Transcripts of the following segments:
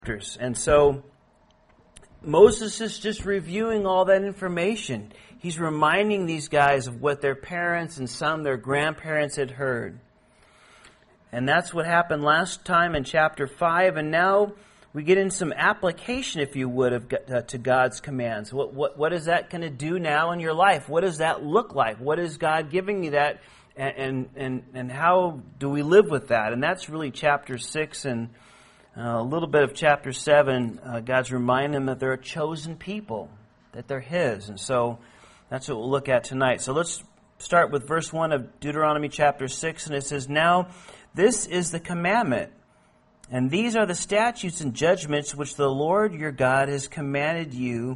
And so Moses is just reviewing all that information. He's reminding these guys of what their parents and some their grandparents had heard. And that's what happened last time in chapter 5. And now we get in some application, if you would, to God's commands. What is that going to do now in your life? What does that look like? What is God giving you that? And how do we live with that? And that's really chapter 6 and a little bit of chapter 7. God's reminding them that they're a chosen people, that they're His. And so that's what we'll look at tonight. So let's start with verse 1 of Deuteronomy chapter 6. And it says, "Now this is the commandment, and these are the statutes and judgments which the Lord your God has commanded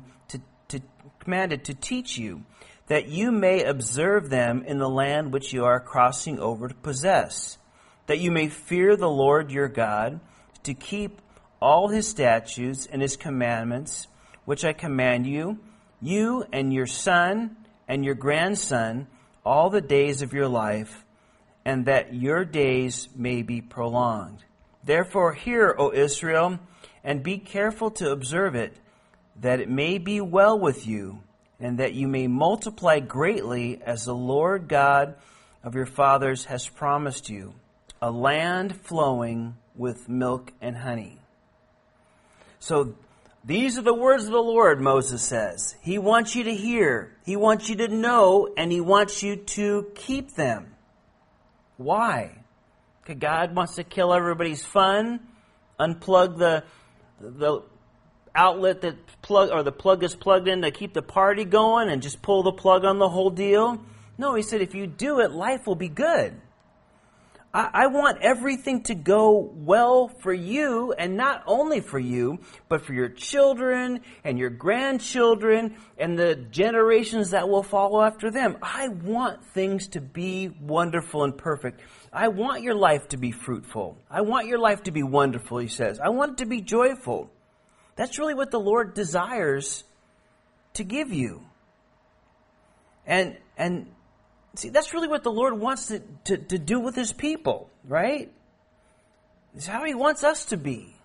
to teach you, that you may observe them in the land which you are crossing over to possess, that you may fear the Lord your God, to keep all His statutes and His commandments, which I command you, you and your son and your grandson, all the days of your life, and that your days may be prolonged. Therefore hear, O Israel, and be careful to observe it, that it may be well with you, and that you may multiply greatly as the Lord God of your fathers has promised you, a land flowing with milk and honey." So these are the words of the Lord, Moses says. He wants you to hear, He wants you to know, and He wants you to keep them. Why? Because God wants to kill everybody's fun, unplug the outlet that the plug is plugged in to keep the party going, and just pull the plug on the whole deal. No, He said, if you do it, life will be good. I want everything to go well for you, and not only for you, but for your children and your grandchildren and the generations that will follow after them. I want things to be wonderful and perfect. I want your life to be fruitful. I want your life to be wonderful, He says. I want it to be joyful. That's really what the Lord desires to give you. And see, that's really what the Lord wants to do with His people, right? It's how He wants us to be.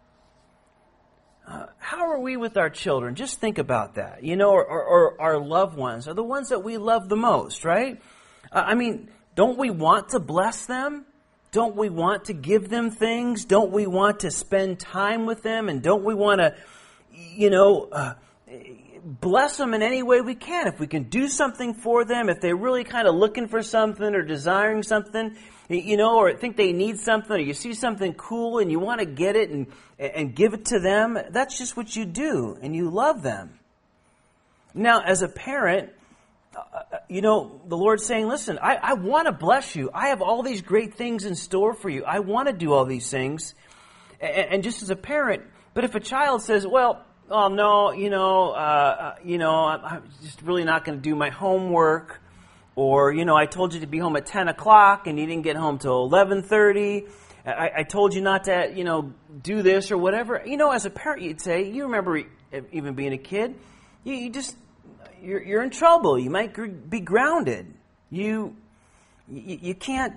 How are we with our children? Just think about that. Or our loved ones, are the ones that we love the most, right? Don't we want to bless them? Don't we want to give them things? Don't we want to spend time with them? And don't we want to, bless them in any way we can? If we can do something for them, if they're really kind of looking for something or desiring something, or think they need something, or you see something cool and you want to get it and give it to them, that's just what you do, and you love them. Now, as a parent, the Lord's saying, listen, I want to bless you. I have all these great things in store for you. I want to do all these things. And just as a parent, but if a child says, well, oh no, I'm just really not going to do my homework, or, I told you to be home at 10 o'clock and you didn't get home till 11:30. I told you not to, do this or whatever. As a parent, you'd say, you remember even being a kid, you're in trouble. You might be grounded. You can't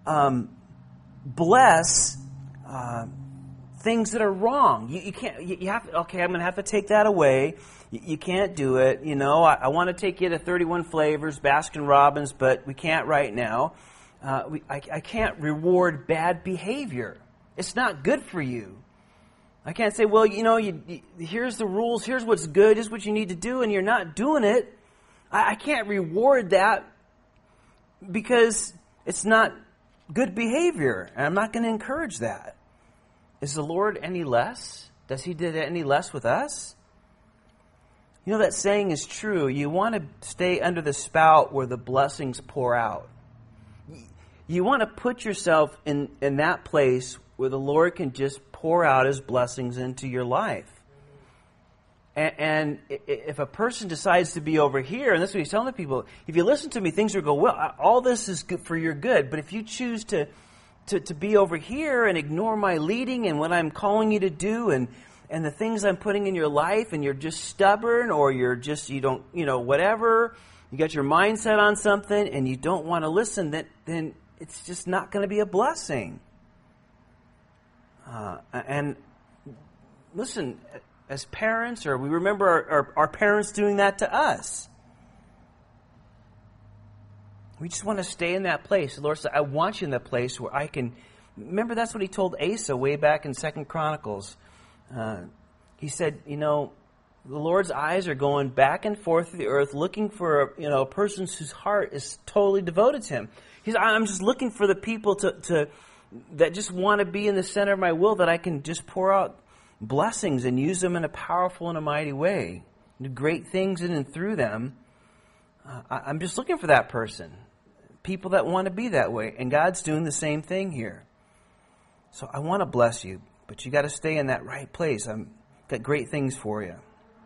bless things that are wrong. You can't. You have to, okay, I'm going to have to take that away. You can't do it. I want to take you to 31 Flavors, Baskin Robbins, but we can't right now. I can't reward bad behavior. It's not good for you. I can't say, well, here's the rules, here's what's good, here's what you need to do, and you're not doing it. I can't reward that because it's not good behavior, and I'm not going to encourage that. Is the Lord any less? Does He do any less with us? That saying is true. You want to stay under the spout where the blessings pour out. You want to put yourself in that place where the Lord can just pour out His blessings into your life. And if a person decides to be over here, and that's what He's telling the people, if you listen to me, things will go well. All this is good for your good. But if you choose to be over here and ignore my leading and what I'm calling you to do and the things I'm putting in your life, and you're just stubborn, or you don't, whatever, you got your mindset on something and you don't want to listen, then it's just not going to be a blessing. And listen, as parents, or we remember our parents doing that to us. We just want to stay in that place. The Lord said, I want you in that place where I can... Remember, that's what he told Asa way back in 2 Chronicles. He said, the Lord's eyes are going back and forth through the earth looking for a person whose heart is totally devoted to him. He said, I'm just looking for the people that just want to be in the center of my will, that I can just pour out blessings and use them in a powerful and a mighty way. Do great things in and through them. I'm just looking for that person. People that want to be that way. And God's doing the same thing here. So I want to bless you, but you got to stay in that right place. I've got great things for you.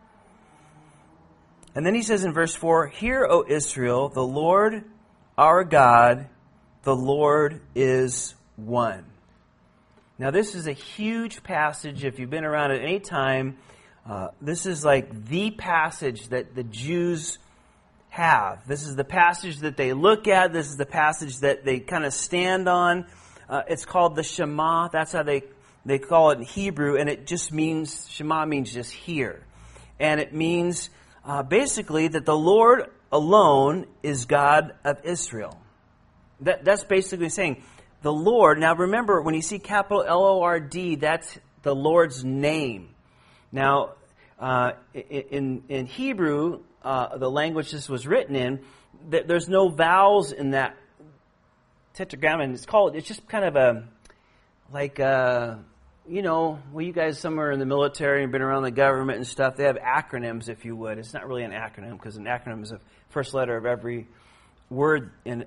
And then he says in verse 4, Hear, O Israel, the Lord our God, the Lord is one. Now this is a huge passage. If you've been around at any time, this is like the passage that the Jews have. This is the passage that they look at. This is the passage that they kind of stand on. It's called the Shema. That's how they call it in Hebrew. And it just means, Shema means just hear. And it means basically that the Lord alone is God of Israel. That's basically saying the Lord. Now remember, when you see capital L-O-R-D, that's the Lord's name. Now, in Hebrew, the language this was written in, there's no vowels in that tetragrammaton. It's just kind of you guys somewhere in the military and been around the government and stuff, they have acronyms, if you would. It's not really an acronym, because an acronym is the first letter of every word in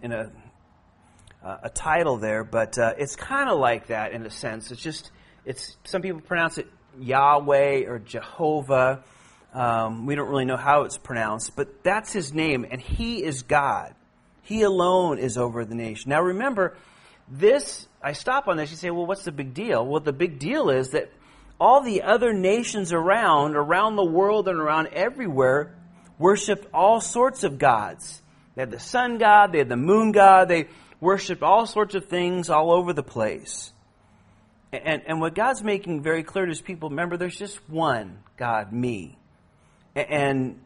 a title there, but it's kind of like that in a sense. It's some people pronounce it Yahweh or Jehovah. We don't really know how it's pronounced, but that's his name, and he is God. He alone is over the nation. Now remember, I stop on this, you say, well, what's the big deal? Well, the big deal is that all the other nations around the world and around everywhere, worshipped all sorts of gods. They had the sun god, they had the moon god, they worshipped all sorts of things all over the place. And what God's making very clear to his people, remember, there's just one God, me. And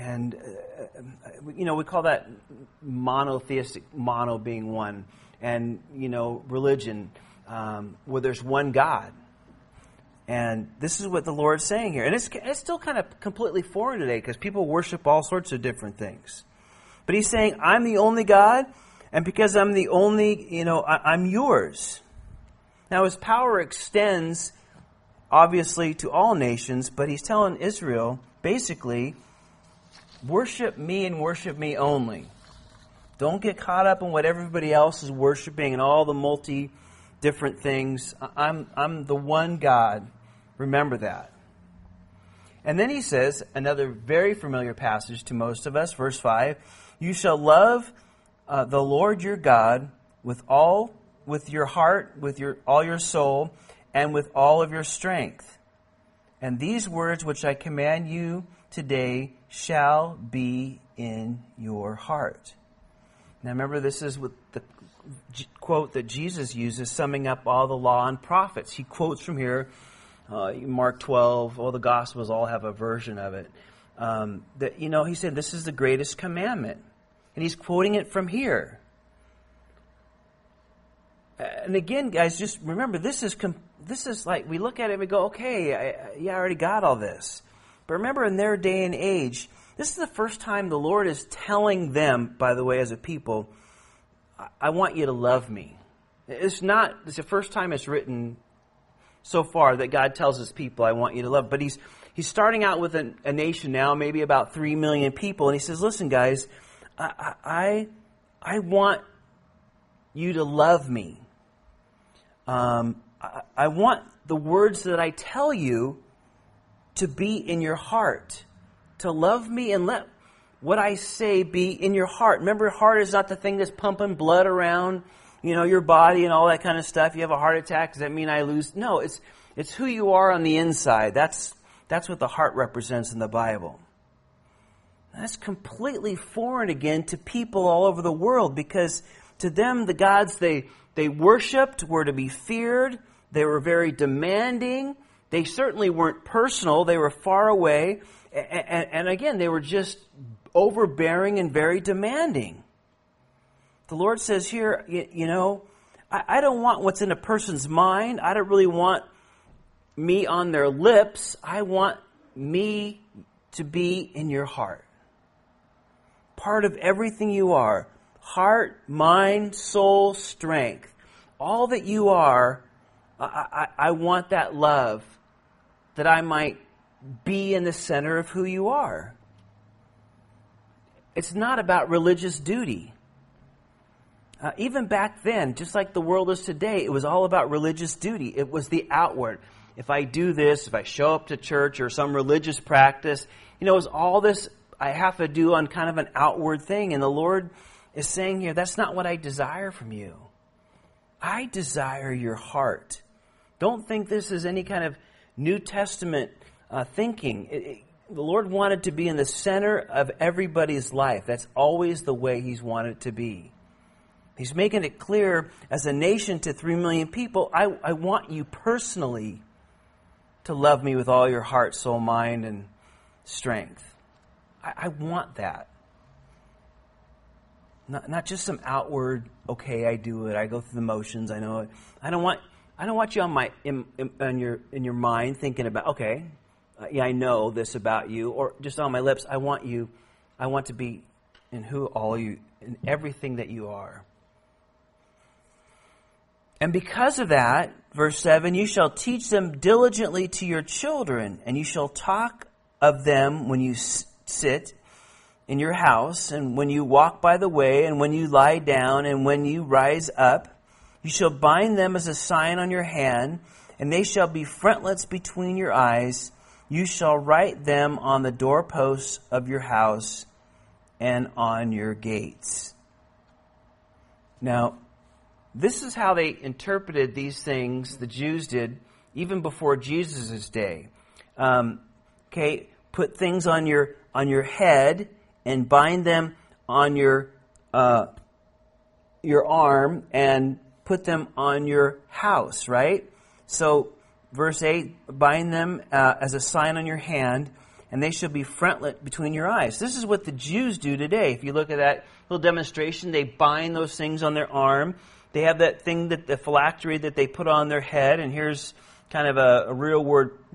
we call that monotheistic, mono being one. And, religion, where there's one God. And this is what the Lord's saying here. And it's still kind of completely foreign today, because people worship all sorts of different things. But he's saying, I'm the only God, and because I'm the only, I'm yours. Now his power extends, obviously, to all nations, but he's telling Israel, basically, worship me and worship me only. Don't get caught up in what everybody else is worshiping and all the different things. I'm the one God. Remember that. And then he says, another very familiar passage to most of us, verse 5, You shall love the Lord your God with your heart, with all your soul, and with all of your strength. And these words which I command you today shall be in your heart. Now remember, this is what the quote that Jesus uses, summing up all the law and prophets. He quotes from here, Mark 12, all the Gospels all have a version of it. He said, this is the greatest commandment. And he's quoting it from here. And again, guys, just remember, this is like, we look at it and we go, okay, I already got all this. But remember, in their day and age, this is the first time the Lord is telling them, by the way, as a people, I want you to love me. It's the first time it's written so far that God tells his people, I want you to love. But he's starting out with a nation now, maybe about 3 million people, and he says, listen, guys, I want you to love me. I want the words that I tell you to be in your heart. To love me and let what I say be in your heart. Remember, heart is not the thing that's pumping blood around, your body and all that kind of stuff. You have a heart attack, does that mean I lose? No, it's who you are on the inside. That's what the heart represents in the Bible. That's completely foreign again to people all over the world, because to them the gods they worshipped were to be feared. They were very demanding. They certainly weren't personal. They were far away. And again, they were just overbearing and very demanding. The Lord says here, I don't want what's in a person's mind. I don't really want me on their lips. I want me to be in your heart. Part of everything you are. Heart, mind, soul, strength. All that you are, I want that love that I might be in the center of who you are. It's not about religious duty. Even back then, just like the world is today, it was all about religious duty. It was the outward. If I do this, if I show up to church or some religious practice, it was all this I have to do on kind of an outward thing. And the Lord is saying here, that's not what I desire from you. I desire your heart. Don't think this is any kind of New Testament thinking. The Lord wanted to be in the center of everybody's life. That's always the way He's wanted it to be. He's making it clear as a nation to 3 million people, I want you personally to love me with all your heart, soul, mind, and strength. I want that. Not just some outward, okay, I do it, I go through the motions, I know it. I don't want you in your mind thinking about, okay, yeah, I know this about you, or just on my lips. I want to be in in everything that you are. And because of that, verse 7, you shall teach them diligently to your children, and you shall talk of them when you sit in your house, and when you walk by the way, and when you lie down, and when you rise up. You shall bind them as a sign on your hand, and they shall be frontlets between your eyes. You shall write them on the doorposts of your house and on your gates. Now, this is how they interpreted these things, the Jews did, even before Jesus' day. Put things on your head and bind them on your arm and put them on your house, right? So, verse 8, bind them as a sign on your hand, and they shall be frontlet between your eyes. This is what the Jews do today. If you look at that little demonstration, they bind those things on their arm. They have that thing, the phylactery that they put on their head, and here's kind of a real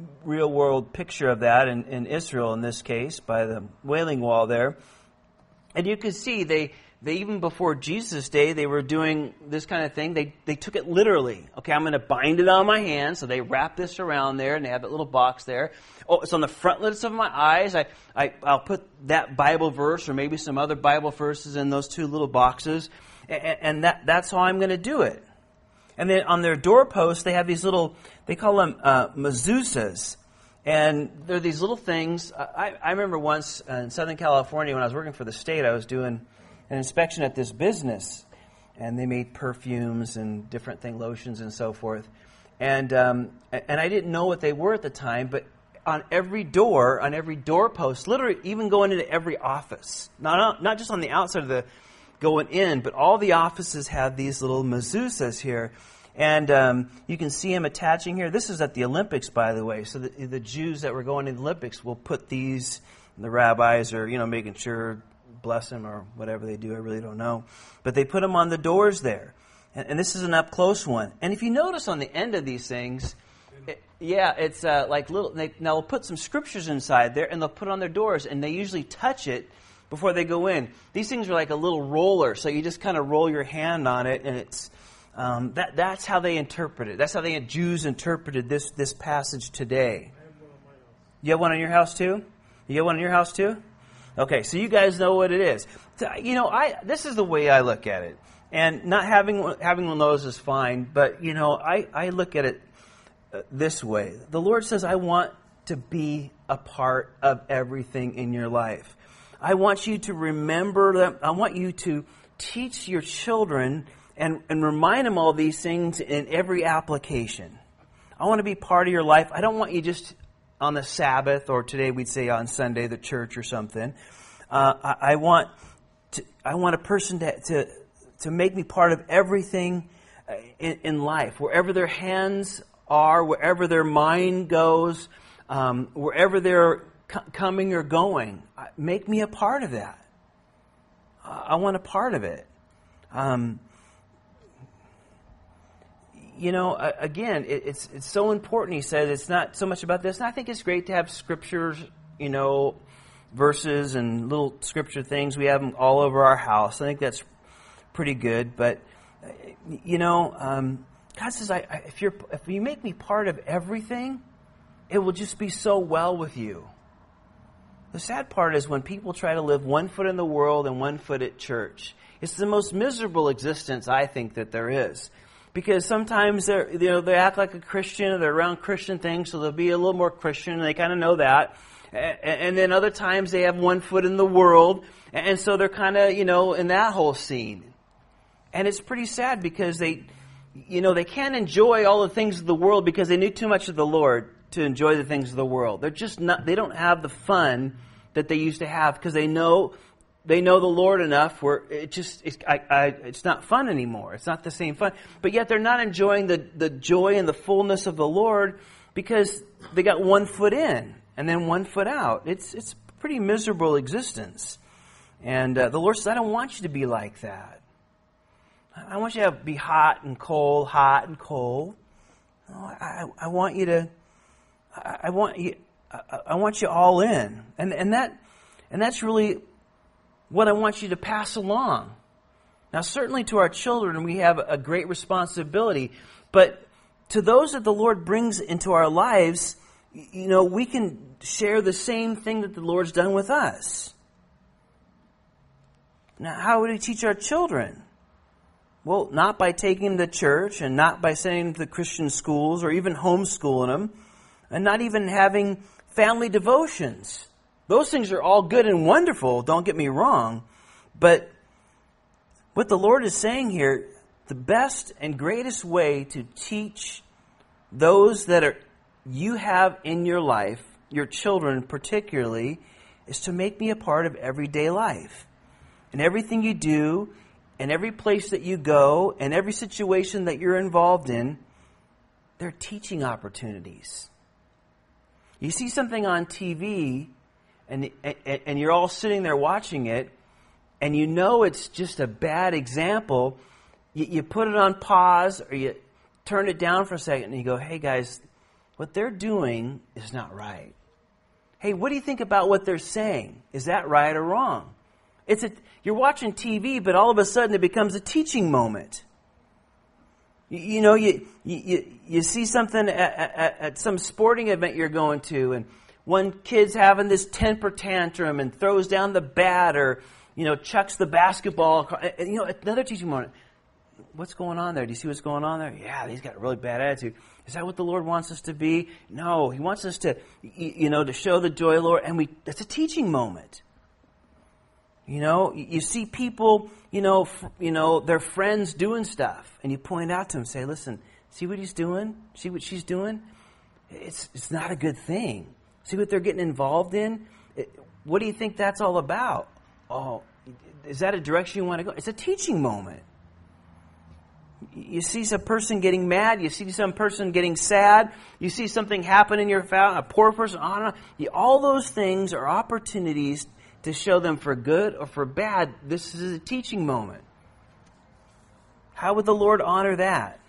world picture of that in Israel in this case, by the Wailing Wall there. And you can see they even before Jesus' day, they were doing this kind of thing. They took it literally. Okay, I'm going to bind it on my hand. So they wrap this around there, and they have that little box there. Oh, it's on the frontlets of my eyes. I'll put that Bible verse or maybe some other Bible verses in those two little boxes. And that's how I'm going to do it. And then on their doorposts, they have these little, they call them mezuzahs. And they're these little things. I remember once in Southern California when I was working for the state, I was doing an inspection at this business. And they made perfumes and different lotions and so forth. And I didn't know what they were at the time, but on every door, on every doorpost, literally even going into every office, not just on the outside of the going in, but all the offices have these little mezuzahs here. And you can see them attaching here. This is at the Olympics, by the way. So the Jews that were going to the Olympics will put these, the rabbis are, making sure, bless them or whatever they do. I really don't know. But they put them on the doors there. And this is an up-close one. And if you notice on the end of these things, it's like little, they'll put some scriptures inside there, and they'll put it on their doors, and they usually touch it before they go in. These things are like a little roller, so you just kind of roll your hand on it, and it's that's how they interpret it. That's how the Jews interpreted this passage today. You have one in your house too? You have one in your house too? Okay, so you guys know what it is. So, this is the way I look at it, and not having one of those is fine. But I look at it this way. The Lord says, "I want to be a part of everything in your life. I want you to remember them. I want you to teach your children and remind them all these things in every application. I want to be part of your life. I don't want you just on the Sabbath, or today we'd say on Sunday, the church or something. I want a person to make me part of everything in life. Wherever their hands are, wherever their mind goes, wherever they're coming or going. Make me a part of that. I want a part of it. Again, it's so important. He said it's not so much about this. And I think it's great to have scriptures, verses and little scripture things. We have them all over our house. I think that's pretty good. But, God says, if you make me part of everything, it will just be so well with you. The sad part is when people try to live one foot in the world and one foot at church. It's the most miserable existence, I think, that there is. Because sometimes they act like a Christian, or they're around Christian things, so they'll be a little more Christian, and they kind of know that. And then other times they have one foot in the world, and so they're kind of, in that whole scene. And it's pretty sad because they can't enjoy all the things of the world because they knew too much of the Lord to enjoy the things of the world. They don't have the fun that they used to have because they know the Lord enough where it's not fun anymore. It's not the same fun. But yet they're not enjoying the joy and the fullness of the Lord because they got one foot in and then one foot out. It's a pretty miserable existence. And the Lord says, I don't want you to be like that. I want you to be hot and cold, hot and cold. I want you to. I want you all in, and that's really what I want you to pass along. Now, certainly to our children, we have a great responsibility, but to those that the Lord brings into our lives, we can share the same thing that the Lord's done with us. Now, how would we teach our children? Well, not by taking them to church and not by sending them to Christian schools or even homeschooling them and not even having family devotions. Those things are all good and wonderful, don't get me wrong. But what the Lord is saying here, the best and greatest way to teach those that you have in your life, your children particularly, is to make me a part of everyday life. And everything you do, and every place that you go, and every situation that you're involved in, they're teaching opportunities. You see something on TV, and you're all sitting there watching it, and it's just a bad example. You put it on pause, or you turn it down for a second, and you go, hey guys, what they're doing is not right. Hey, what do you think about what they're saying? Is that right or wrong? You're watching TV, but all of a sudden it becomes a teaching moment. You see something at some sporting event you're going to, and one kid's having this temper tantrum and throws down the bat or, chucks the basketball. Another teaching moment. What's going on there? Do you see what's going on there? Yeah, he's got a really bad attitude. Is that what the Lord wants us to be? No, He wants us to, to show the joy of the Lord, and it's a teaching moment. You see people, their friends doing stuff, and you point out to them, say, listen, see what he's doing? See what she's doing? It's not a good thing. See what they're getting involved in? What do you think that's all about? Oh, is that a direction you want to go? It's a teaching moment. You see some person getting mad. You see some person getting sad. You see something happen in your family, a poor person, on and on. All those things are opportunities to show them for good or for bad. This is a teaching moment. How would the Lord honor that?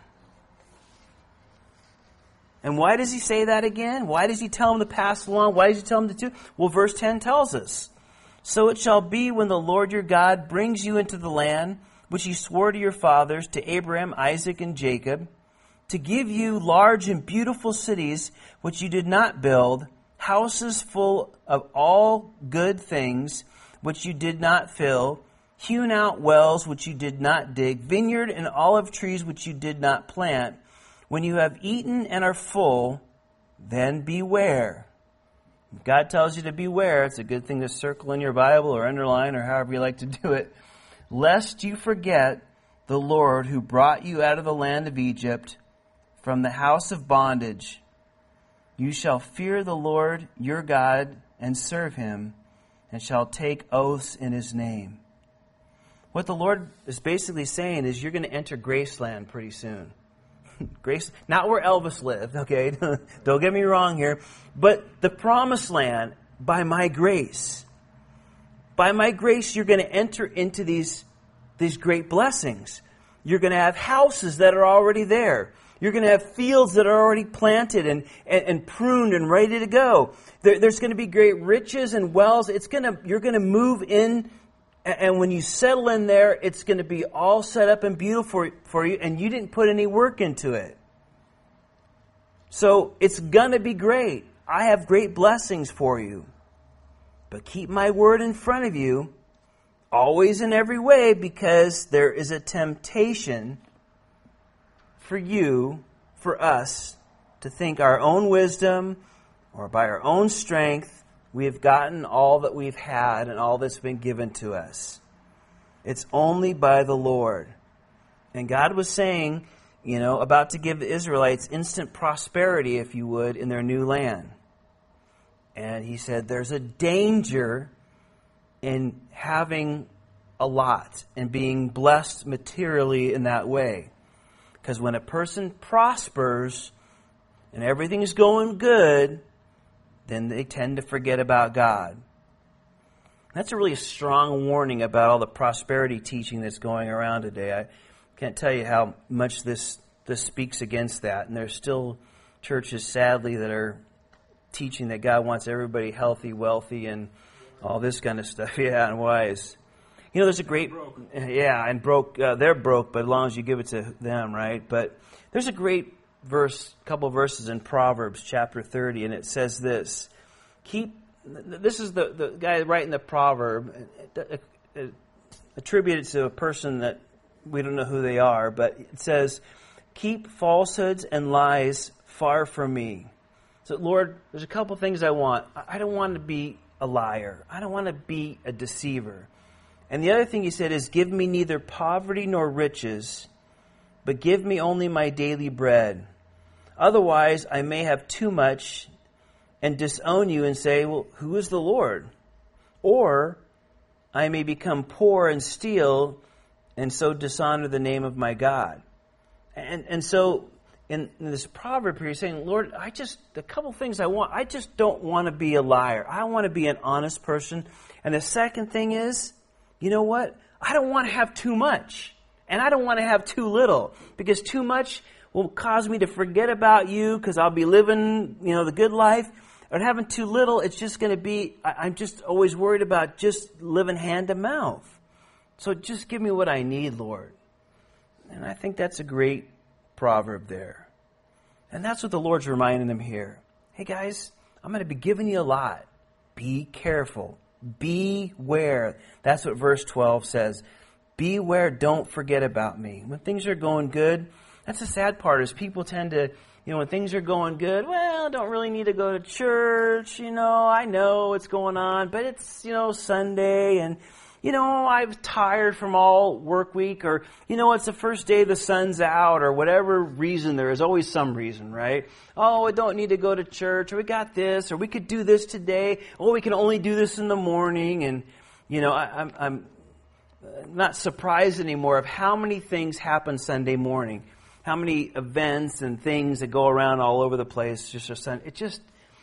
And why does He say that again? Why does He tell them to pass along? Why does He tell them to do? Well, verse 10 tells us, so it shall be when the Lord your God brings you into the land which He swore to your fathers, to Abraham, Isaac, and Jacob, to give you large and beautiful cities which you did not build, houses full of all good things which you did not fill, hewn out wells which you did not dig, vineyard and olive trees which you did not plant. When you have eaten and are full, then beware. If God tells you to beware, it's a good thing to circle in your Bible or underline or however you like to do it, lest you forget the Lord who brought you out of the land of Egypt from the house of bondage. You shall fear the Lord your God and serve Him, and shall take oaths in His name. What the Lord is basically saying is you're going to enter Graceland pretty soon. Grace, not where Elvis lived, okay? Don't get me wrong here. But the promised land by my grace. By my grace, you're going to enter into these great blessings. You're going to have houses that are already there. You're going to have fields that are already planted and pruned and ready to go. There's going to be great riches and wells. You're going to move in, and when you settle in there, it's going to be all set up and beautiful for you, and you didn't put any work into it. So it's going to be great. I have great blessings for you. But keep my word in front of you, always in every way, because there is a temptation for us, to think our own wisdom or by our own strength, we have gotten all that we've had and all that's been given to us. It's only by the Lord. And God was saying, about to give the Israelites instant prosperity, if you would, in their new land. And he said there's a danger in having a lot and being blessed materially in that way. Because when a person prospers and everything's going good, then they tend to forget about God. That's a really strong warning about all the prosperity teaching that's going around today. I can't tell you how much this speaks against that. And there's still churches, sadly, that are teaching that God wants everybody healthy, wealthy, and all this kind of stuff. Yeah, and wise. There's a great, and broke. They're broke, but as long as you give it to them, right? But there's a great couple verses in Proverbs chapter 30, and it says this. This is the guy writing the proverb, attributed to a person that we don't know who they are, but it says, keep falsehoods and lies far from me. So, Lord, there's a couple things I want. I don't want to be a liar. I don't want to be a deceiver. And the other thing he said is, give me neither poverty nor riches, but give me only my daily bread. Otherwise, I may have too much and disown you and say, well, who is the Lord? Or I may become poor and steal and so dishonor the name of my God. And so in this proverb here, he's saying, Lord, a couple things I want. I just don't want to be a liar. I want to be an honest person. And the second thing is, you know what? I don't want to have too much. And I don't want to have too little. Because too much will cause me to forget about you because I'll be living, the good life. Or having too little, it's just going to be, I'm just always worried about just living hand to mouth. So just give me what I need, Lord. And I think that's a great proverb there. And that's what the Lord's reminding them here. Hey guys, I'm going to be giving you a lot. Be careful. Beware. That's what verse 12 says. Beware, don't forget about me. When things are going good, that's the sad part is people tend to, when things are going good, well, I don't really need to go to church, I know what's going on, but it's, Sunday and, I'm tired from all work week or, it's the first day the sun's out or whatever reason. There is always some reason, right? Oh, I don't need to go to church or we got this or we could do this today. Oh, we can only do this in the morning. And, I'm not surprised anymore of how many things happen Sunday morning. How many events and things that go around all over the place. It just,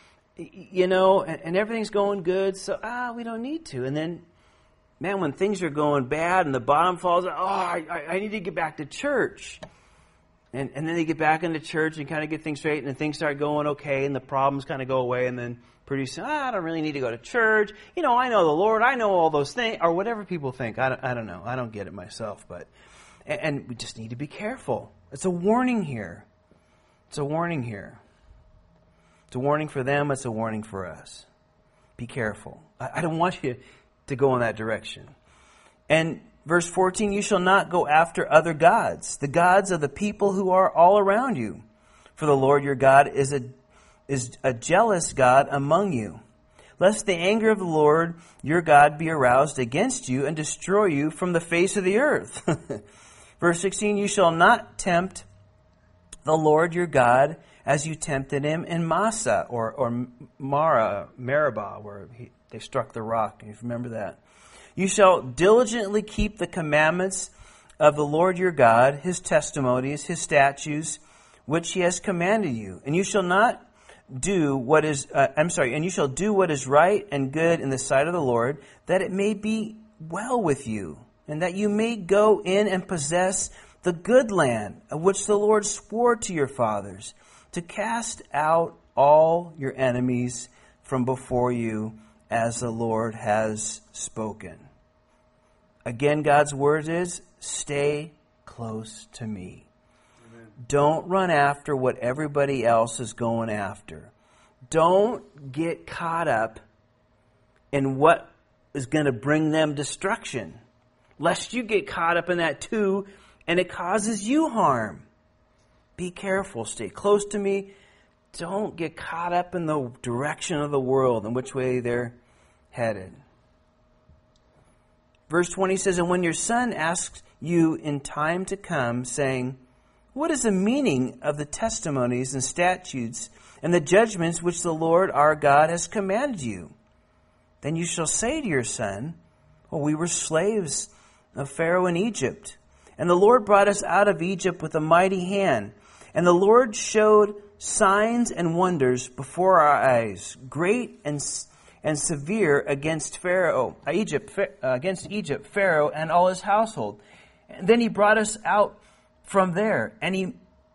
and everything's going good. So, we don't need to. And then, man, when things are going bad and the bottom falls out, I need to get back to church. And then they get back into church and kind of get things straight and then things start going okay and the problems kind of go away and then pretty soon, I don't really need to go to church. I know the Lord. I know all those things or whatever people think. I don't know. I don't get it myself. But and we just need to be careful. It's a warning here. It's a warning here. It's a warning for them. It's a warning for us. Be careful. I don't want you to go in that direction. And verse 14, you shall not go after other gods, the gods of the people who are all around you. For the Lord your God is a jealous God among you. Lest the anger of the Lord your God be aroused against you and destroy you from the face of the earth. Verse 16, you shall not tempt the Lord your God as you tempted him in Massa or Meribah, where they struck the rock. You remember that. You shall diligently keep the commandments of the Lord your God, his testimonies, his statutes, which he has commanded you. And you shall not do what is, and you shall do what is right and good in the sight of the Lord, that it may be well with you, and that you may go in and possess the good land of which the Lord swore to your fathers, to cast out all your enemies from before you, as the Lord has spoken. Again, God's word is, stay close to me. Amen. Don't run after what everybody else is going after. Don't get caught up in what is going to bring them destruction, lest you get caught up in that too, and it causes you harm. Be careful. Stay close to me. Don't get caught up in the direction of the world and which way they're headed. Verse 20 says, and when your son asks you in time to come, saying, what is the meaning of the testimonies and statutes and the judgments which the Lord our God has commanded you? Then you shall say to your son, well, we were slaves of Pharaoh in Egypt, and the Lord brought us out of Egypt with a mighty hand, and the Lord showed signs and wonders before our eyes, great and severe against Egypt, Pharaoh and all his household. And then he brought us out from there, and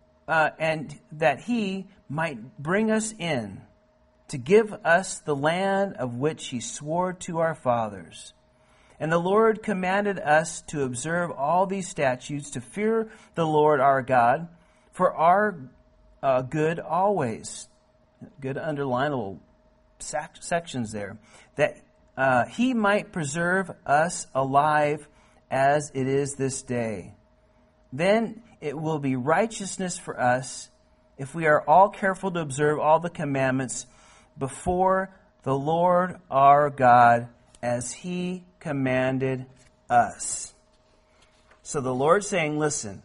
that he might bring us in to give us the land of which he swore to our fathers. And the Lord commanded us to observe all these statutes, to fear the Lord our God, for our good always. Good underline little sections there. That he might preserve us alive as it is this day. Then it will be righteousness for us if we are all careful to observe all the commandments before the Lord our God as he commanded us. So the Lord's saying, listen,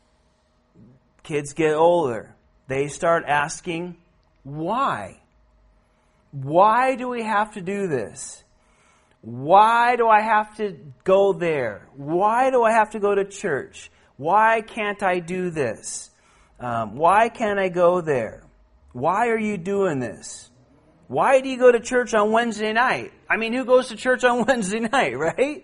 kids get older. They start asking, why? Why do we have to do this? Why do I have to go there? Why do I have to go to church? Why can't I do this? Why can't I go there? Why are you doing this? Why do you go to church on Wednesday night? I mean, who goes to church on Wednesday night, right?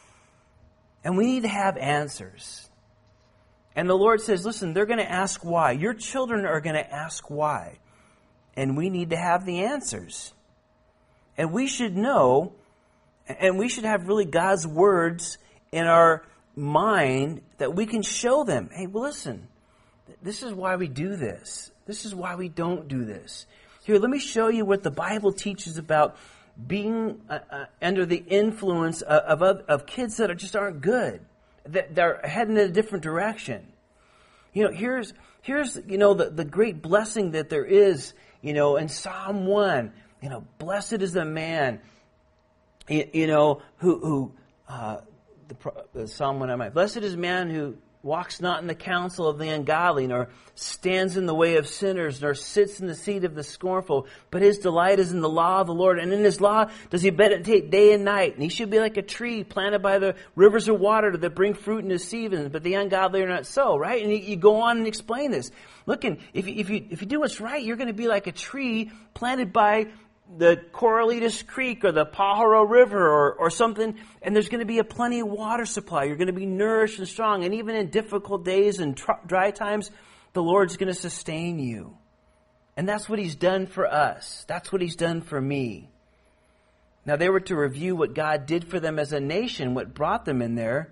And we need to have answers. And the Lord says, listen, they're going to ask why. Your children are going to ask why. And we need to have the answers. And we should know, and we should have really God's words in our mind that we can show them. Hey, well, listen, this is why we do this. This is why we don't do this. Here, let me show you what the Bible teaches about being under the influence of kids that aren't good, that they're heading in a different direction. You know, here's the great blessing that there is, in Psalm 1. Blessed is the man, who the Psalm 1. Blessed is the man who walks not in the counsel of the ungodly, nor stands in the way of sinners, nor sits in the seat of the scornful. But his delight is in the law of the Lord, and in his law does he meditate day and night. And he should be like a tree planted by the rivers of water that bring fruit in his season, but the ungodly are not so, right? And you go on and explain this. Look, if you do what's right, you're going to be like a tree planted by the Corralitos Creek or the Pajaro River or something, and there's going to be a plenty of water supply. You're going to be nourished and strong, and even in difficult days and dry times, the Lord's going to sustain you. And that's what he's done for us. That's what he's done for me. Now, they were to review what God did for them as a nation, what brought them in there.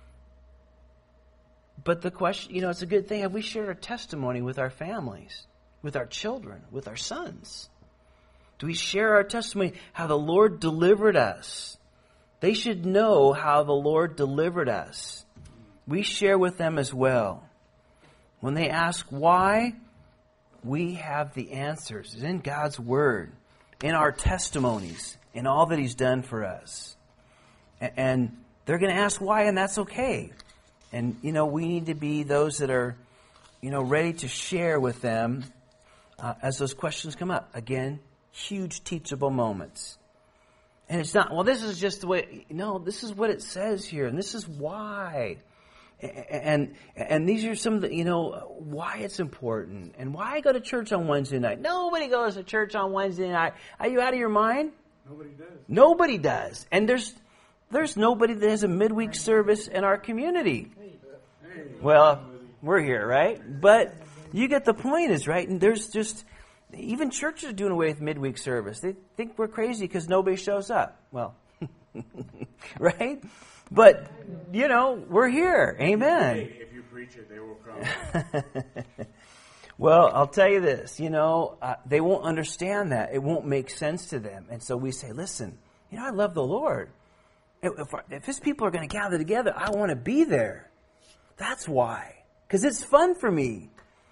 But the question, it's a good thing. Have we shared our testimony with our families, with our children, with our sons? Do we share our testimony, how the Lord delivered us? They should know how the Lord delivered us. We share with them as well. When they ask why, we have the answers. It's in God's Word, in our testimonies, in all that he's done for us. And they're going to ask why, and that's okay. And, we need to be those that are, ready to share with them as those questions come up. Again, huge teachable moments. And it's not, well, this is just the way. No, this is what it says here, and this is why. And these are some of the, why it's important and why I go to church on Wednesday night. Nobody goes to church on Wednesday night. Are you out of your mind? Nobody does. Nobody does. And there's nobody that has a midweek service in our community. Well, we're here, right? But you get the point is, right? And there's just, even churches are doing away with midweek service. They think we're crazy because nobody shows up. Well, right? But, we're here. Amen. If you preach it, they will come. Well, I'll tell you this, they won't understand that. It won't make sense to them. And so we say, listen, I love the Lord. If His people are going to gather together, I want to be there. That's why. Because it's fun for me.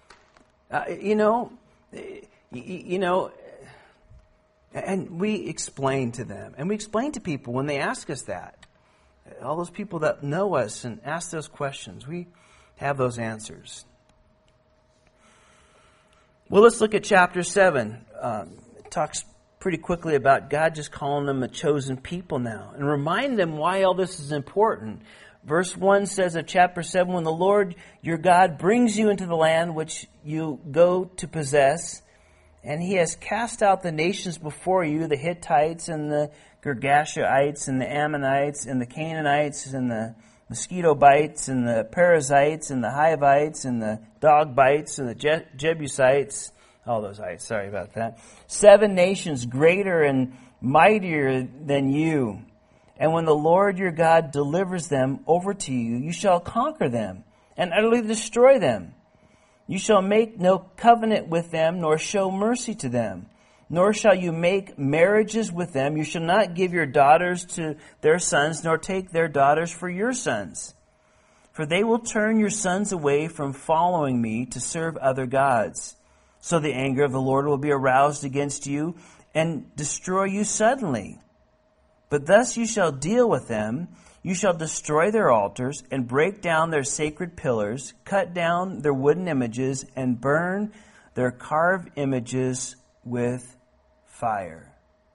And we explain to them. And we explain to people when they ask us that. All those people that know us and ask those questions, we have those answers. Well, let's look at chapter 7. It talks pretty quickly about God just calling them a chosen people now. And remind them why all this is important. Verse 1 says of chapter 7, when the Lord your God brings you into the land which you go to possess, and He has cast out the nations before you, the Hittites and the Girgashites and the Ammonites and the Canaanites and the mosquito bites and the Perizzites and the Hivites and the dog bites and the Jebusites, all those ites, sorry about that. 7 nations greater and mightier than you. And when the Lord your God delivers them over to you, you shall conquer them and utterly destroy them. You shall make no covenant with them, nor show mercy to them, nor shall you make marriages with them. You shall not give your daughters to their sons, nor take their daughters for your sons. For they will turn your sons away from following me to serve other gods. So the anger of the Lord will be aroused against you and destroy you suddenly. But thus you shall deal with them. You shall destroy their altars and break down their sacred pillars, cut down their wooden images, and burn their carved images with fire.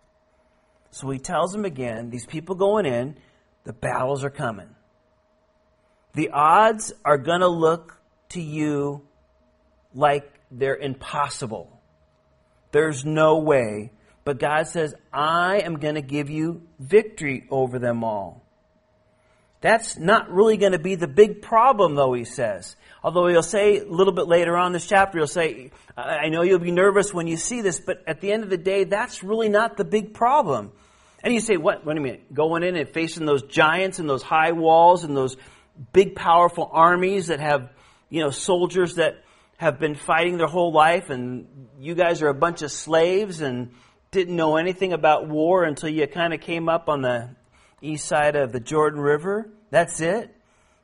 So He tells them again, these people going in, the battles are coming. The odds are going to look to you like they're impossible. There's no way. But God says, I am going to give you victory over them all. That's not really going to be the big problem, though, He says. Although He'll say a little bit later on in this chapter, He'll say, I know you'll be nervous when you see this, but at the end of the day, that's really not the big problem. And you say, what do you mean? Going in and facing those giants and those high walls and those big, powerful armies that have, soldiers that have been fighting their whole life, and you guys are a bunch of slaves and didn't know anything about war until you kind of came up on the east side of the Jordan River. That's it?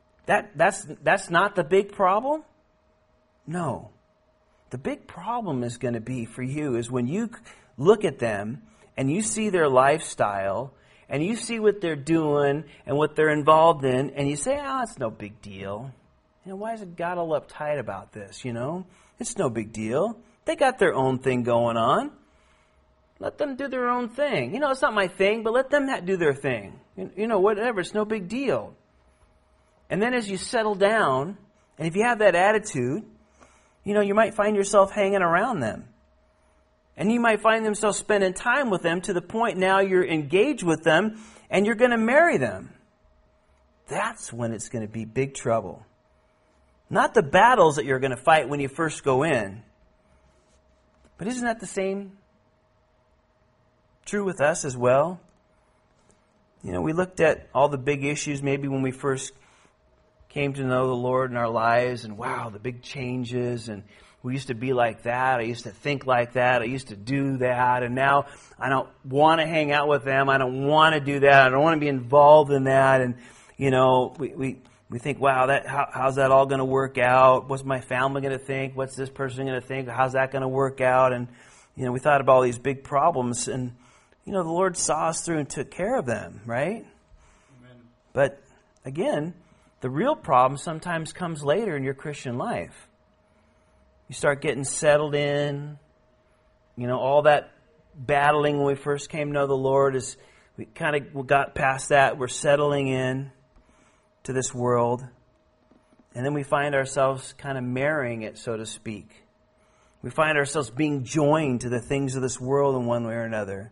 That's not the big problem? No. The big problem is going to be for you is when you look at them and you see their lifestyle and you see what they're doing and what they're involved in, and you say, it's no big deal. Why is God all uptight about this, It's no big deal. They got their own thing going on. Let them do their own thing. It's not my thing, but let them do their thing. Whatever, it's no big deal. And then as you settle down, and if you have that attitude, you might find yourself hanging around them. And you might find yourself spending time with them to the point now you're engaged with them and you're going to marry them. That's when it's going to be big trouble. Not the battles that you're going to fight when you first go in. But isn't that the same true with us as well? We looked at all the big issues maybe when we first came to know the Lord in our lives, and wow, the big changes, and we used to be like that, I used to think like that, I used to do that, and now I don't want to hang out with them, I don't want to do that, I don't want to be involved in that, and we think, wow, how's that all going to work out? What's my family going to think? What's this person going to think? How's that going to work out? And we thought about all these big problems, and the Lord saw us through and took care of them, right? Amen. But again, the real problem sometimes comes later in your Christian life. You start getting settled in. All that battling when we first came to know the Lord is, we kind of got past that. We're settling in to this world. And then we find ourselves kind of marrying it, so to speak. We find ourselves being joined to the things of this world in one way or another.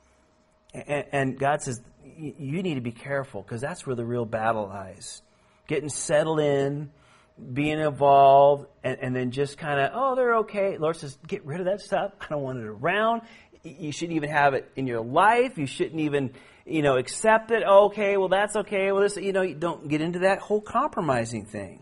And God says, you need to be careful, because that's where the real battle lies. Getting settled in, being involved, and then just kind of, oh, they're okay. The Lord says, get rid of that stuff. I don't want it around. You shouldn't even have it in your life. You shouldn't even, accept it. Okay, well, that's okay. Well, this, you don't get into that whole compromising thing.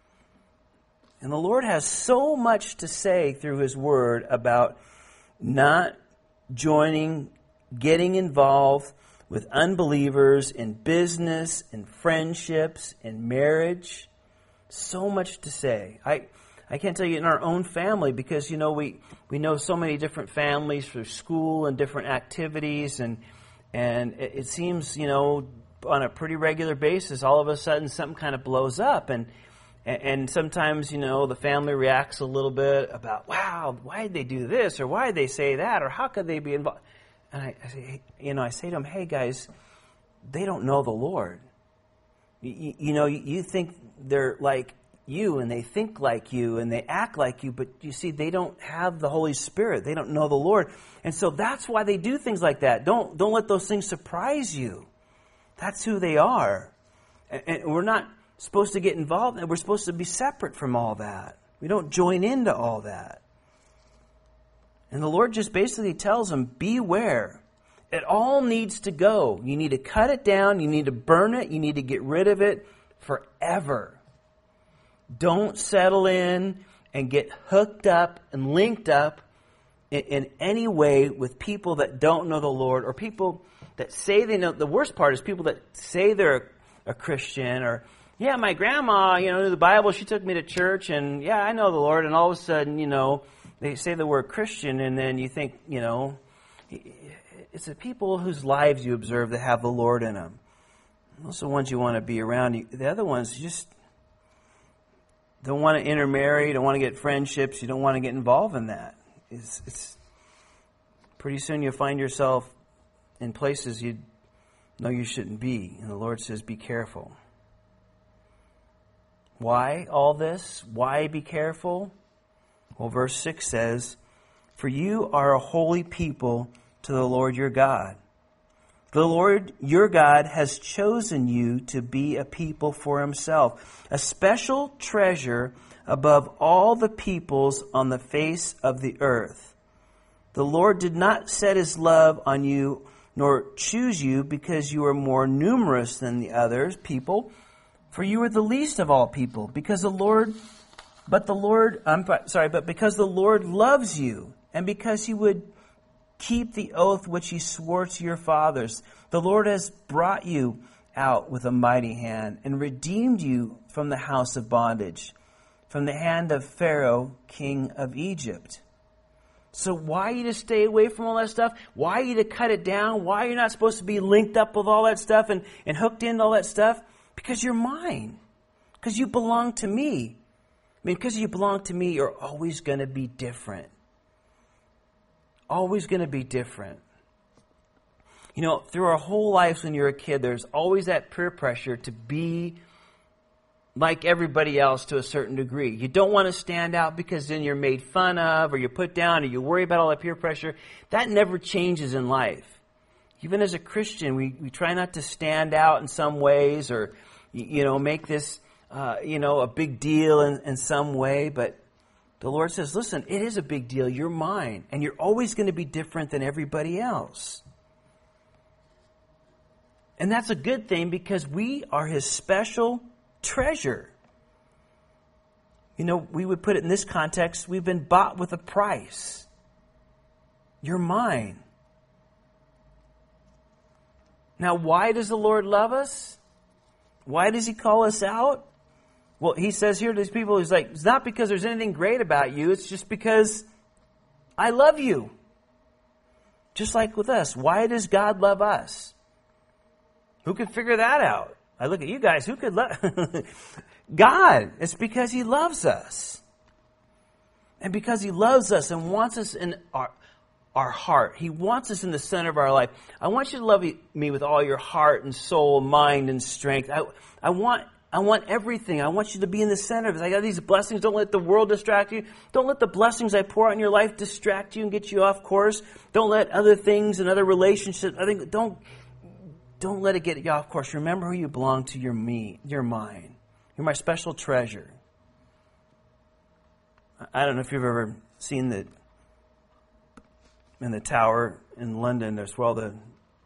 And the Lord has so much to say through His Word about not joining, getting involved with unbelievers in business, in friendships, in marriage. So much to say. I can't tell you in our own family, because, we know so many different families through school and different activities, and it seems, on a pretty regular basis, all of a sudden something kind of blows up, and sometimes, the family reacts a little bit about, wow, why did they do this, or why did they say that, or how could they be involved? And I say to them, hey guys, they don't know the Lord. You think they're like you, and they think like you, and they act like you, but you see, they don't have the Holy Spirit. They don't know the Lord. And so that's why they do things like that. Don't let those things surprise you. That's who they are. And we're not supposed to get involved, and we're supposed to be separate from all that. We don't join into all that. And the Lord just basically tells them, beware. It all needs to go. You need to cut it down. You need to burn it. You need to get rid of it forever. Don't settle in and get hooked up and linked up in any way with people that don't know the Lord, or people that say they know. The worst part is people that say they're a Christian, or, yeah, my grandma, knew the Bible. She took me to church, and yeah, I know the Lord. And all of a sudden, they say the word Christian, and then you think, it's the people whose lives you observe that have the Lord in them. Those are the ones you want to be around. The other ones, you just don't want to intermarry, don't want to get friendships, you don't want to get involved in that. It's pretty soon you'll find yourself in places you know you shouldn't be. And the Lord says, be careful. Why all this? Why be careful? Well, verse 6 says, for you are a holy people to the Lord your God. The Lord your God has chosen you to be a people for Himself, a special treasure above all the peoples on the face of the earth. The Lord did not set His love on you, nor choose you because you are more numerous than the other people, for you are the least of all people, because the Lord loves you, and because He would keep the oath which He swore to your fathers. The Lord has brought you out with a mighty hand and redeemed you from the house of bondage, from the hand of Pharaoh, king of Egypt. So why are you to stay away from all that stuff? Why are you to cut it down? Why are you not supposed to be linked up with all that stuff and hooked into all that stuff? Because you're mine. Because you belong to me. Because you belong to me, you're always going to be different. Always going to be different. Through our whole lives when you're a kid, there's always that peer pressure to be like everybody else to a certain degree. You don't want to stand out because then you're made fun of, or you're put down, or you worry about all that peer pressure. That never changes in life. Even as a Christian, we try not to stand out in some ways, or make this a big deal in some way, but the Lord says, listen, it is a big deal. You're mine, and you're always going to be different than everybody else. And that's a good thing, because we are His special treasure. We would put it in this context, we've been bought with a price. You're mine. Now, why does the Lord love us? Why does He call us out? Well, He says here to these people, He's like, it's not because there's anything great about you. It's just because I love you. Just like with us. Why does God love us? Who can figure that out? I look at you guys. Who could love? God. It's because He loves us. And because He loves us and wants us in our heart. He wants us in the center of our life. I want you to love me with all your heart and soul, mind and strength. I want I want everything. I want you to be in the center of it. I got these blessings. Don't let the world distract you. Don't let the blessings I pour out in your life distract you and get you off course. Don't let other things and other relationships, don't let it get you off course. Remember who you belong to. You're me. You're mine. You're my special treasure. I don't know if you've ever seen in the tower in London, there's where all the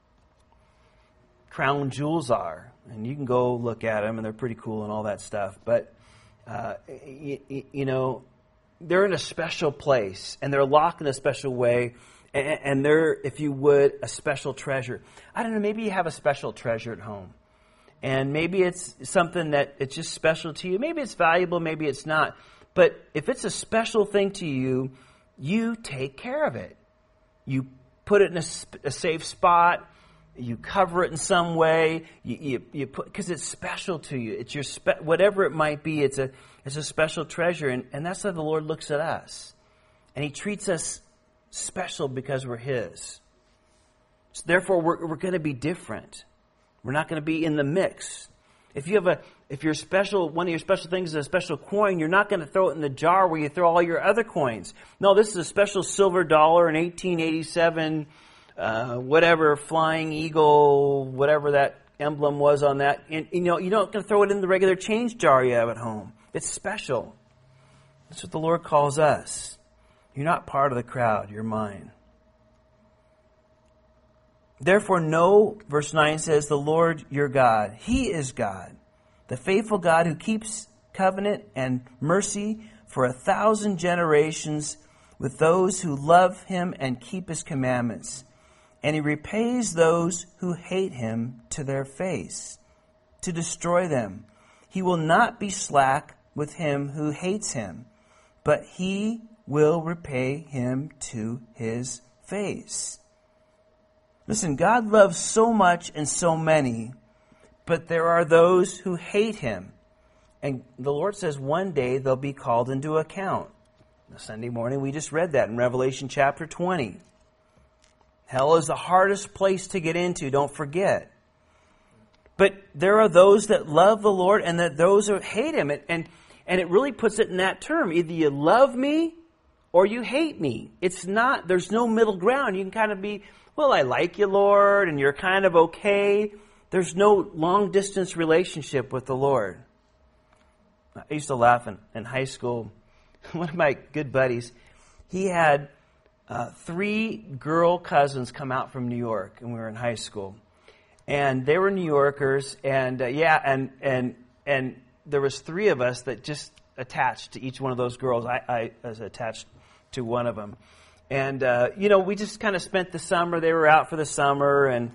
crown jewels are. And you can go look at them, and they're pretty cool and all that stuff. But, you know, they're in a special place, and they're locked in a special way, and they're, if you would, a special treasure. I don't know, maybe you have a special treasure at home. And maybe it's something that it's just special to you. Maybe it's valuable, maybe it's not. But if it's a special thing to you, you take care of it. You put it in a safe spot. You cover it in some way. You put, because it's special to you. It's your whatever it might be. It's a special treasure, and that's how the Lord looks at us, and He treats us special because we're His. So therefore, we're going to be different. We're not going to be in the mix. If you're special, one of your special things is a special coin, you're not going to throw it in the jar where you throw all your other coins. No, this is a special silver dollar in 1887. Whatever, Flying Eagle, whatever that emblem was on that. And, you know, you're not going to throw it in the regular change jar you have at home. It's special. That's what the Lord calls us. You're not part of the crowd. You're mine. Therefore know, verse 9 says, the Lord your God, He is God, the faithful God who keeps covenant and mercy for 1,000 generations with those who love Him and keep His commandments. And He repays those who hate Him to their face, to destroy them. He will not be slack with him who hates Him, but He will repay him to His face. Listen, God loves so much and so many, but there are those who hate Him. And the Lord says one day they'll be called into account. Sunday morning we just read that in Revelation chapter 20. Hell is the hardest place to get into, don't forget. But there are those that love the Lord and that those who hate Him. And it really puts it in that term. Either you love me or you hate me. It's not, there's no middle ground. You can kind of be, well, I like you, Lord, and you're kind of okay. There's no long distance relationship with the Lord. I used to laugh in high school. One of my good buddies, he had 3 girl cousins come out from New York, and we were in high school. And they were New Yorkers, and and there was 3 of us that just attached to each one of those girls. I was attached to one of them. And, you know, we just kind of spent the summer. They were out for the summer, and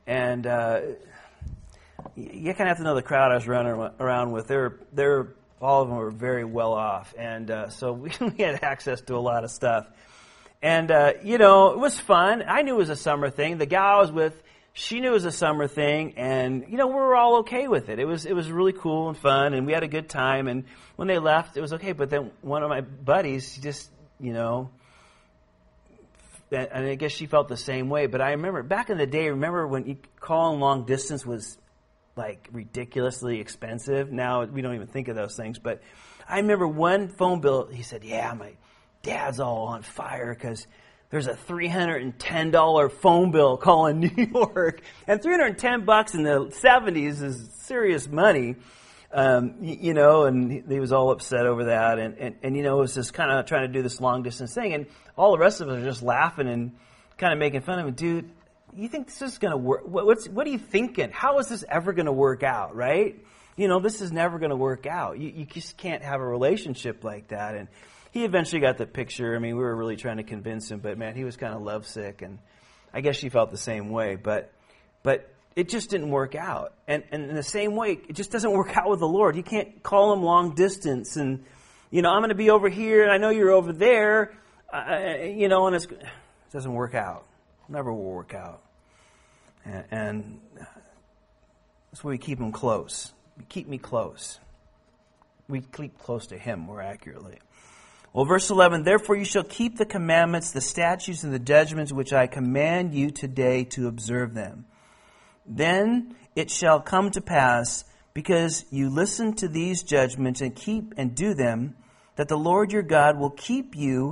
you kind of have to know the crowd I was running around with. They're all of them were very well off, and so we had access to a lot of stuff. And, you know, it was fun. I knew it was a summer thing. The gal I was with, she knew it was a summer thing, and, you know, we were all okay with it. It was really cool and fun, and we had a good time. And when they left, it was okay. But then one of my buddies just, you know, and I guess she felt the same way. But I remember, back in the day, when calling long distance was, like, ridiculously expensive. Now, we don't even think of those things. But I remember one phone bill, he said, yeah, my dad's all on fire because there's a $310 phone bill calling New York. And $310 in the 70s is serious money, you know, and he was all upset over that. And you know, it was just kind of trying to do this long distance thing. And all the rest of us are just laughing and kind of making fun of him. Dude, you think this is going to work? What are you thinking? How is this ever going to work out, right? You know, this is never going to work out. You just can't have a relationship like that. And he eventually got the picture. I mean, we were really trying to convince him, but man, he was kind of lovesick, and I guess she felt the same way. But it just didn't work out. And in the same way, it just doesn't work out with the Lord. You can't call Him long distance, and you know, I'm going to be over here, and I know you're over there, you know, and it doesn't work out. Never will work out. And that's why we keep Him close. Keep me close. We keep close to Him more accurately. Well, verse 11, therefore you shall keep the commandments, the statutes, and the judgments which I command you today to observe them. Then it shall come to pass because you listen to these judgments and keep and do them, that the Lord your God will keep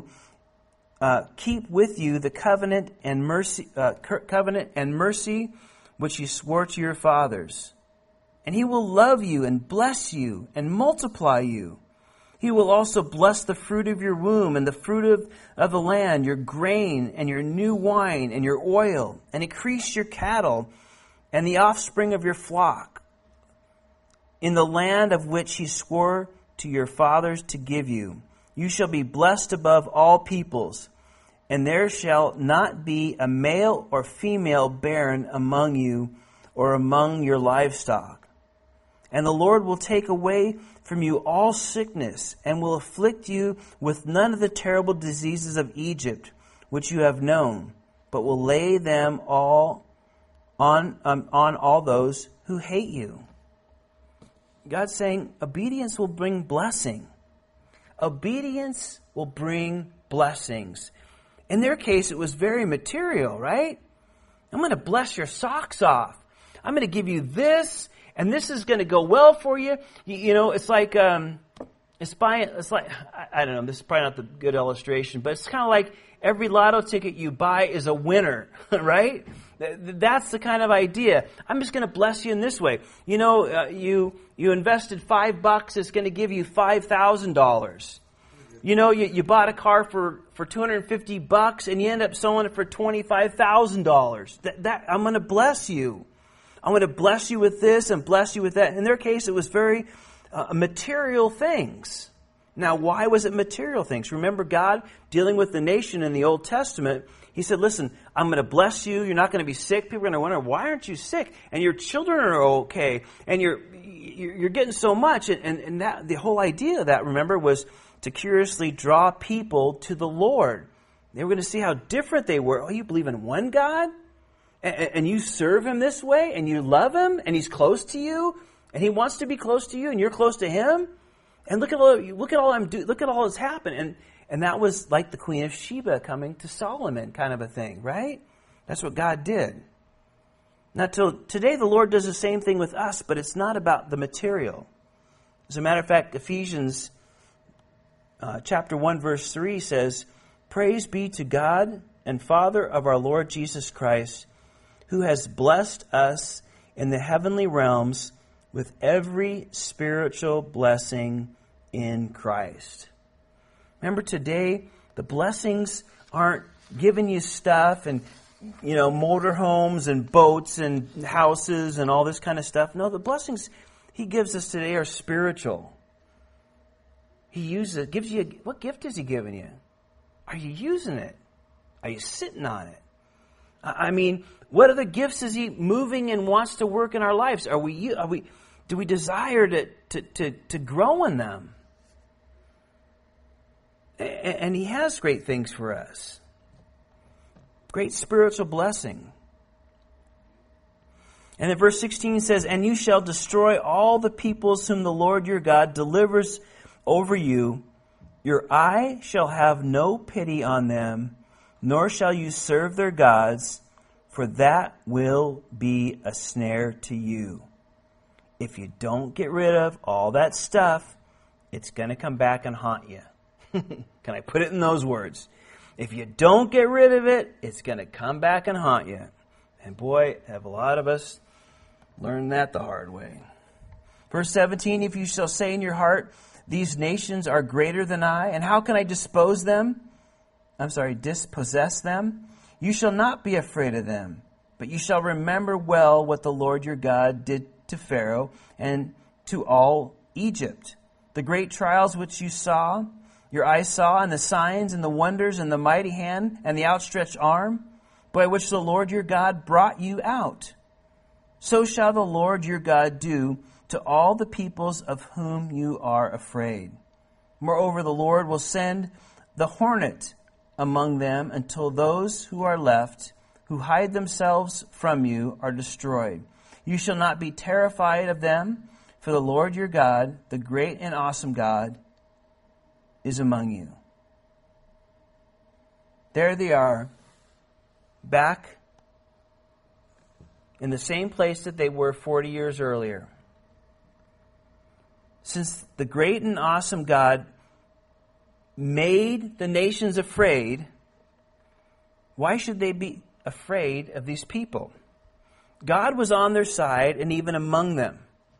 with you the covenant and mercy which he swore to your fathers. And he will love you and bless you and multiply you. He will also bless the fruit of your womb and the fruit of the land, your grain and your new wine and your oil, and increase your cattle and the offspring of your flock in the land of which he swore to your fathers to give you. You shall be blessed above all peoples, and there shall not be a male or female barren among you or among your livestock. And the Lord will take away from you all sickness, and will afflict you with none of the terrible diseases of Egypt, which you have known, but will lay them all on all those who hate you. God's saying obedience will bring blessing. Obedience will bring blessings. In their case, it was very material, right? I'm going to bless your socks off. I'm going to give you this, and this is going to go well for you. You know, it's like, I don't know, this is probably not the good illustration, but it's kind of like every lotto ticket you buy is a winner, right? That's the kind of idea. I'm just going to bless you in this way. You know, you invested $5, it's going to give you $5,000. You know, you bought a car for $250 and you end up selling it for $25,000. That I'm going to bless you. I'm going to bless you with this and bless you with that. In their case, it was very material things. Now, why was it material things? Remember God dealing with the nation in the Old Testament. He said, listen, I'm going to bless you. You're not going to be sick. People are going to wonder, why aren't you sick? And your children are okay. And you're getting so much. And that the whole idea of that, remember, was to curiously draw people to the Lord. They were going to see how different they were. Oh, you believe in one God? And you serve him this way? And you love him? And he's close to you? And he wants to be close to you? And you're close to him? And look at all that's happened. And that was like the Queen of Sheba coming to Solomon kind of a thing, right? That's what God did. Now, today the Lord does the same thing with us, but it's not about the material. As a matter of fact, Ephesians chapter 1, verse 3 says, "Praise be to God and Father of our Lord Jesus Christ, who has blessed us in the heavenly realms with every spiritual blessing in Christ." Remember, today, the blessings aren't giving you stuff and, you know, motorhomes and boats and houses and all this kind of stuff. No, the blessings he gives us today are spiritual. He uses it, gives you, what gift is he giving you? Are you using it? Are you sitting on it? I mean, what other gifts is he moving and wants to work in our lives? Do we desire to grow in them? And he has great things for us. Great spiritual blessing. And in verse 16 it says, "And you shall destroy all the peoples whom the Lord your God delivers over you. Your eye shall have no pity on them, nor shall you serve their gods, for that will be a snare to you." If you don't get rid of all that stuff, it's going to come back and haunt you. Can I put it in those words? If you don't get rid of it, it's going to come back and haunt you. And boy, have a lot of us learned that the hard way. Verse 17, "If you shall say in your heart, these nations are greater than I, and how can I dispossess them? You shall not be afraid of them, but you shall remember well what the Lord your God did to Pharaoh and to all Egypt. The great trials which your eyes saw, and the signs and the wonders and the mighty hand and the outstretched arm, by which the Lord your God brought you out. So shall the Lord your God do to all the peoples of whom you are afraid. Moreover, the Lord will send the hornet among them until those who are left, who hide themselves from you, are destroyed. You shall not be terrified of them, for the Lord your God, the great and awesome God, is among you." There they are, back in the same place that they were 40 years earlier. since the great and awesome God made the nations afraid, why should they be afraid of these people? God was on their side and even among them.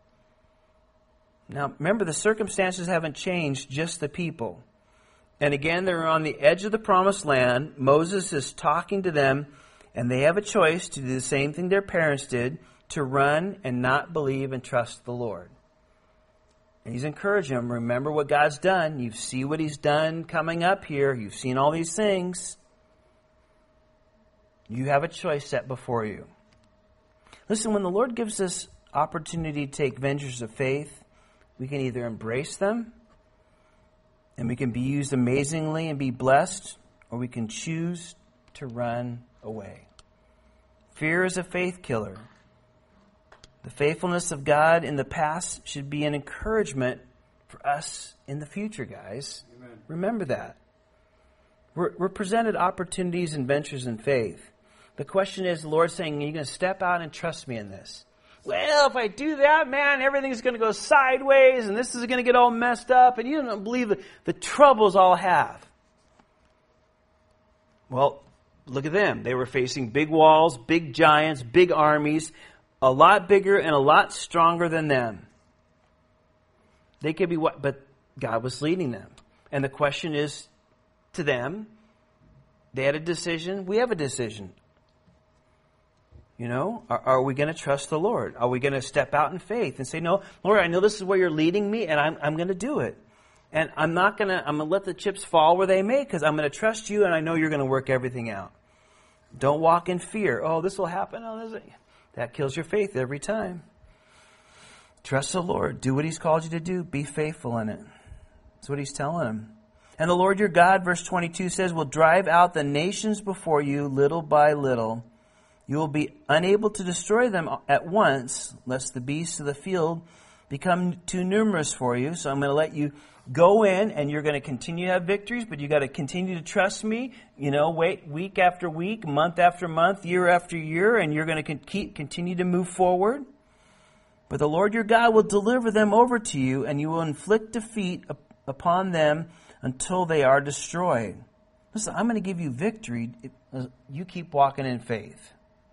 Now, remember, the circumstances haven't changed, just the people. And again, they're on the edge of the promised land. Moses is talking to them, and they have a choice to do the same thing their parents did, to run and not believe and trust the Lord. And he's encouraging them, remember what God's done. You see what he's done coming up here. You've seen all these things. You have a choice set before you. Listen, when the Lord gives us opportunity to take ventures of faith, we can either embrace them, and we can be used amazingly and be blessed, or we can choose to run away. Fear is a faith killer. The faithfulness of God in the past should be an encouragement for us in the future, guys. Amen. Remember that. We're presented opportunities and ventures in faith. The question is, the Lord's saying, are you going to step out and trust me in this? Well, if I do that, man, everything's going to go sideways, and this is going to get all messed up, and you don't believe the troubles I'll have. Well, look at them. They were facing big walls, big giants, big armies, a lot bigger and a lot stronger than them. They could be what, but God was leading them. And the question is to them, they had a decision, we have a decision. You know, are we going to trust the Lord? Are we going to step out in faith and say, no, Lord, I know this is where you're leading me, and I'm going to do it. And I'm going to let the chips fall where they may, because I'm going to trust you, and I know you're going to work everything out. Don't walk in fear. Oh, this will happen. Oh, that kills your faith every time. Trust the Lord. Do what he's called you to do. Be faithful in it. That's what he's telling them. And the Lord your God, verse 22 says, will drive out the nations before you little by little. You will be unable to destroy them at once, lest the beasts of the field become too numerous for you. So I'm going to let you go in, and you're going to continue to have victories, but you got to continue to trust me. You know, wait week after week, month after month, year after year, and you're going to continue to move forward. But the Lord your God will deliver them over to you, and you will inflict defeat upon them until they are destroyed. Listen, I'm going to give you victory. You keep walking in faith.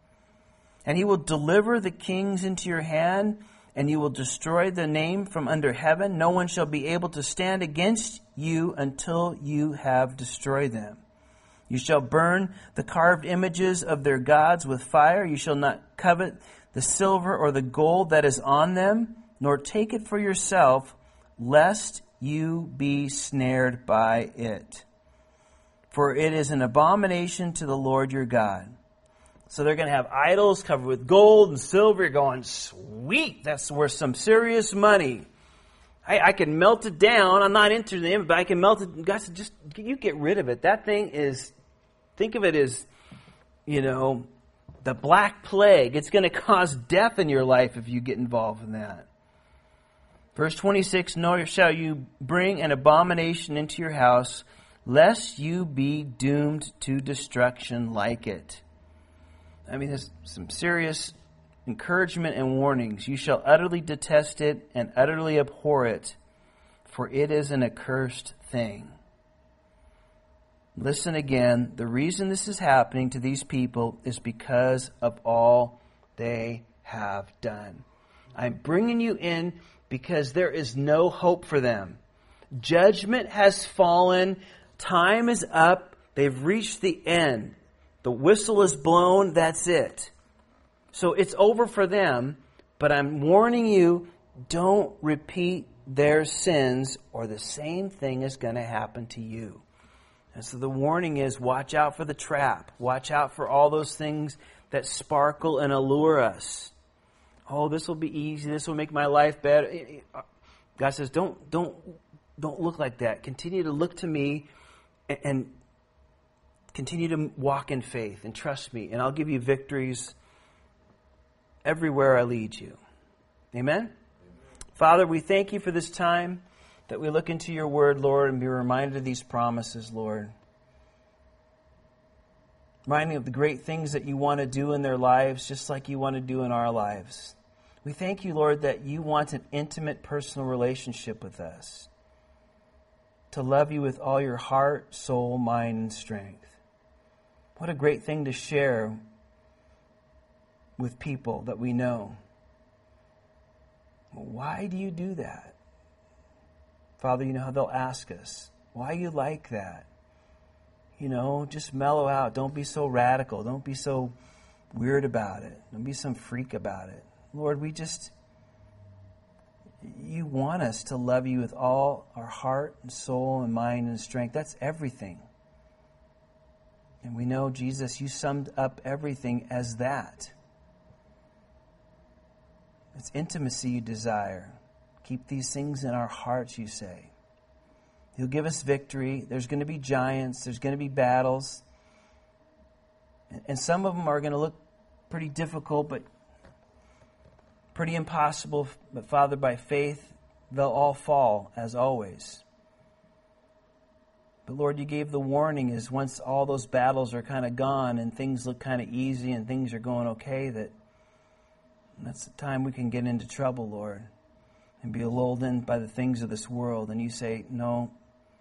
And he will deliver the kings into your hand, and you will destroy the name from under heaven. No one shall be able to stand against you until you have destroyed them. You shall burn the carved images of their gods with fire. You shall not covet the silver or the gold that is on them, nor take it for yourself, lest you be snared by it. For it is an abomination to the Lord your God. So they're going to have idols covered with gold and silver. You're going, sweet, that's worth some serious money. I can melt it down. I'm not into them, but I can melt it. God said, just, you get rid of it. That thing is, think of it as, you know, the Black Plague. It's going to cause death in your life if you get involved in that. Verse 26, nor shall you bring an abomination into your house, lest you be doomed to destruction like it. I mean, there's some serious encouragement and warnings. You shall utterly detest it and utterly abhor it, for it is an accursed thing. Listen again. The reason this is happening to these people is because of all they have done. I'm bringing you in because there is no hope for them. Judgment has fallen. Time is up. They've reached the end. The whistle is blown, that's it. So it's over for them, but I'm warning you, don't repeat their sins or the same thing is going to happen to you. And so the warning is, watch out for the trap. Watch out for all those things that sparkle and allure us. Oh, this will be easy. This will make my life better. God says, don't look like that. Continue to look to me and continue to walk in faith and trust me, and I'll give you victories everywhere I lead you. Amen? Amen? Father, we thank you for this time that we look into your word, Lord, and be reminded of these promises, Lord. Reminding of the great things that you want to do in their lives, just like you want to do in our lives. We thank you, Lord, that you want an intimate personal relationship with us, to love you with all your heart, soul, mind, and strength. What a great thing to share with people that we know. Why do you do that? Father, you know how they'll ask us, why you like that? Just mellow out. Don't be so radical. Don't be so weird about it. Don't be some freak about it. Lord, you want us to love you with all our heart and soul and mind and strength. That's everything. And we know, Jesus, you summed up everything as that. It's intimacy you desire. Keep these things in our hearts, you say. You'll give us victory. There's going to be giants. There's going to be battles. And some of them are going to look pretty difficult, but pretty impossible. But Father, by faith, they'll all fall, as always. But Lord, you gave the warning is once all those battles are kind of gone and things look kind of easy and things are going okay, that's the time we can get into trouble, Lord, and be lulled in by the things of this world. And you say, no,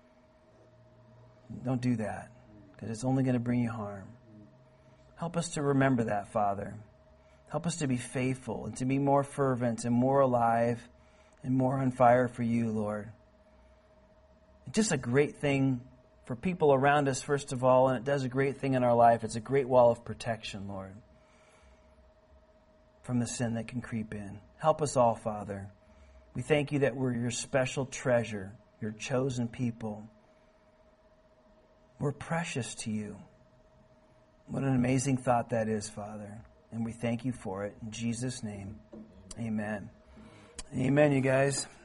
don't do that, because it's only going to bring you harm. Help us to remember that, Father. Help us to be faithful and to be more fervent and more alive and more on fire for you, Lord. It's just a great thing for people around us, first of all, and it does a great thing in our life. It's a great wall of protection, Lord, from the sin that can creep in. Help us all, Father. We thank you that we're your special treasure, your chosen people. We're precious to you. What an amazing thought that is, Father. And we thank you for it. In Jesus' name, amen. Amen, you guys.